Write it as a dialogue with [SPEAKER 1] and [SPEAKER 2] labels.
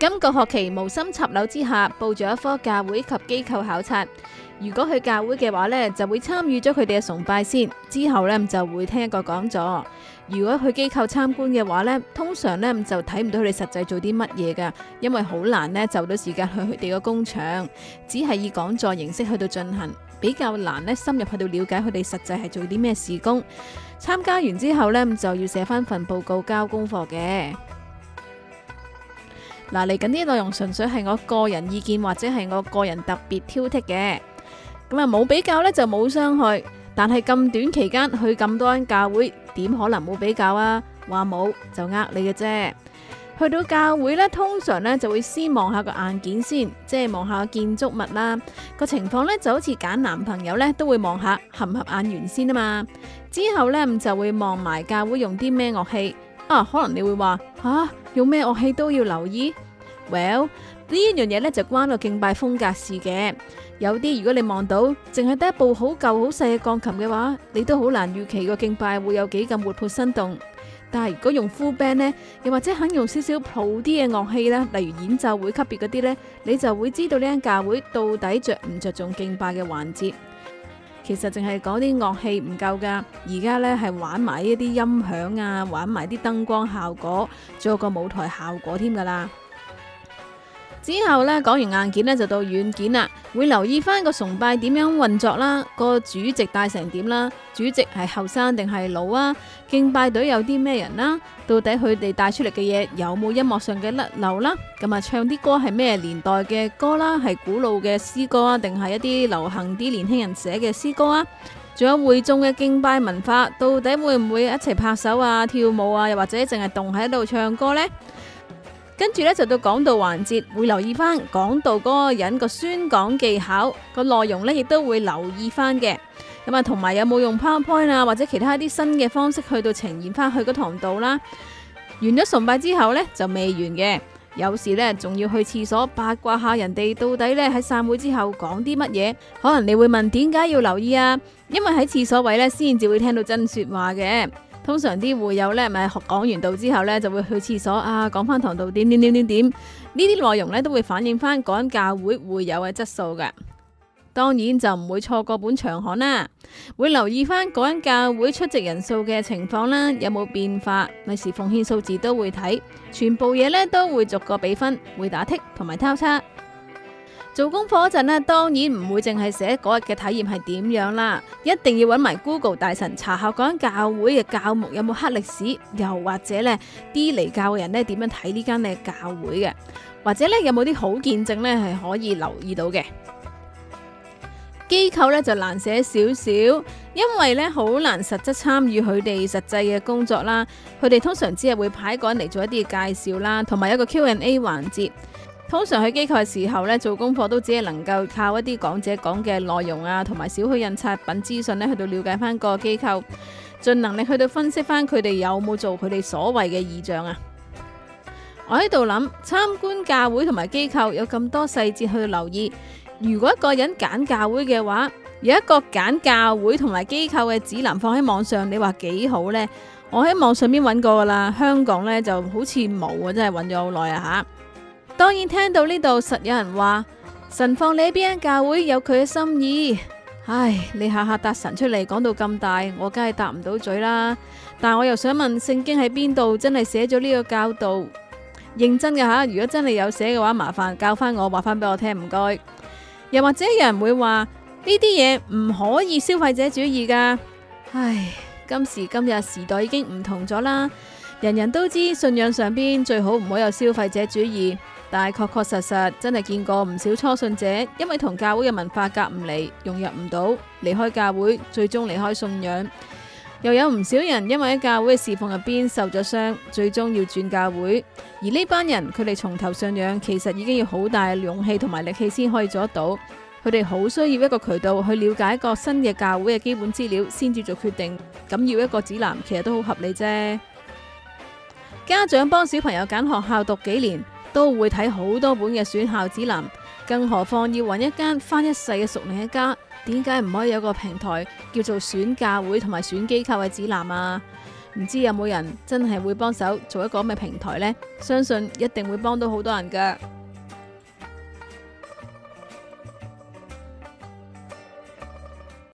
[SPEAKER 1] 今個學期無心插柳之下，報咗一科教會及機構考察。如果去教會嘅話呢，就會參與咗佢哋嘅崇拜先，之後呢就會聽一個講座。如果去機構參觀嘅話呢，通常呢就睇唔到佢哋實際做啲乜嘢噶，因為好難呢就到時間去佢哋嘅工場，只係以講座形式去到進行，比較難呢深入去到了解佢哋實際係做啲咩事工。參加完之後呢，就要寫翻份報告交功課嘅。嗱，嚟緊啲內容純粹係我個人意見或者係我個人特別挑剔嘅，咁啊冇比較呢就冇傷害。但係咁短期間去咁多間教會，點可能冇比較啊？話冇就呃你嘅啫。去到教會呢，通常呢就會先望下個硬件先，即係望下個建築物啦。個情況呢就好似揀男朋友呢，都會望下合唔合眼緣先啊嘛。之後呢就會望埋教會用啲咩樂器。可能你會話用咩樂器都要留意。Well， 呢一樣嘢呢就關個敬拜風格事嘅。有啲如果你望到淨係得一部好舊好細嘅鋼琴嘅話，你都好難預期個敬拜會有幾咁活潑生動。但係如果用 full band 呢，又或者肯用少少普啲嘅樂器啦，例如演奏會級別嗰啲呢，你就會知道呢間教會到底着唔着重敬拜嘅環節。其實淨係講啲樂器唔夠噶，而家呢係玩埋一啲音響啊，玩埋啲燈光效果，仲有個舞台效果添噶啦。之後呢，講完硬件呢，就到軟件啦，會留意翻個崇拜點樣運作啦，個主席帶成點啦，主席係後生定係老啊，敬拜隊有啲咩人啦，到底佢哋帶出嚟嘅嘢有冇音樂上嘅甩漏啦，咁啊唱啲歌係咩年代嘅歌啦，係古老嘅詩歌啊，定係一啲流行啲年輕人寫嘅詩歌啊，仲有會眾嘅敬拜文化，到底會唔會一齊拍手啊、跳舞啊，又或者淨係動喺度唱歌呢？跟住呢，就到講道環節，會留意翻講道嗰個人個宣講技巧個內容呢，亦都會留意翻嘅。咁啊，同埋有冇用 PowerPoint 啊，或者其他啲新嘅方式去到呈現翻去嗰堂道啦。完咗崇拜之後呢，就未完嘅，有時呢，仲要去廁所八卦下人哋到底呢喺散會之後講啲乜嘢。可能你會問點解要留意啊？因為喺廁所位呢，先至會聽到真說話嘅。通常啲會友呢，咪講完道之後呢，就會去廁所講翻堂道點，呢啲內容呢，都會反映翻嗰間教會會友嘅質素㗎。當然就唔會錯過本場刊啦，會留意翻嗰間教會出席人數嘅情況啦，有冇變化，例如奉獻數字都會睇，全部嘢呢，都會逐個比分，會打剔同埋交叉。做功課嗰陣呢，當然唔會淨係寫嗰日嘅體驗係點樣啦，一定要揾埋 Google 大神查下嗰間教會嘅教牧有冇黑歷史，又或者呢啲嚟教嘅人呢點樣睇呢間嘅教會嘅，或者呢有冇啲好見證呢係可以留意到嘅。機構呢就難寫少少，因為呢好難實質參與佢哋實際嘅工作啦，佢哋通常只係會派一個人嚟做一啲嘅介紹啦，同埋一個 Q&A 環節。通常去機構嘅時候呢，做功課都只係能夠靠一啲講者講嘅內容啊，同埋少許印刷品資訊呢，去到了解翻個機構，盡能力去到分析翻佢哋有冇做佢哋所謂嘅異象啊。我喺度諗，參觀教會同埋機構有咁多細節去留意，如果一個人揀教會嘅話，有一個揀教會同埋機構嘅指南放喺網上，你話幾好呢？我喺網上邊揾過噶啦，香港呢就好似冇啊，真係揾咗好耐啊吓。當然聽到呢度實有人話神放你喺邊間教會有佢嘅心意，唉，你下下答神出嚟講到咁大，我梗係答唔到嘴啦。但我又想問聖經喺邊度真係寫咗呢個教導？認真嘅吓，如果真係有寫嘅話，麻煩教翻我，話翻俾我聽，唔該。又或者有人會話呢啲嘢唔可以消費者主義噶，唉，今時今日時代已經唔同咗啦，人人都知信仰上邊最好唔好有消費者主義。但係確確實實真係見過唔少初信者，因為同教會嘅文化夾唔嚟，融入唔到，離開教會，最終離開信仰。又有唔少人因為喺教會嘅侍奉入邊受咗傷，最終要轉教會。而呢班人佢哋從頭信仰，其實已經要好大勇氣同埋力氣先可以做得到。佢哋好需要一個渠道去了解一個新嘅教會嘅基本資料，先至做決定。咁要一個指南，其實都好合理啫。家長幫小朋友揀學校讀幾年，都會睇好多本嘅選校指南，更何況要揾一間返一世嘅屬靈一家，點解唔可以有個平台叫做選教會同埋選機構嘅指南啊？ 唔知有冇人真係會幫手做一個咁嘅平台呢？相信一定會幫到好多人噶。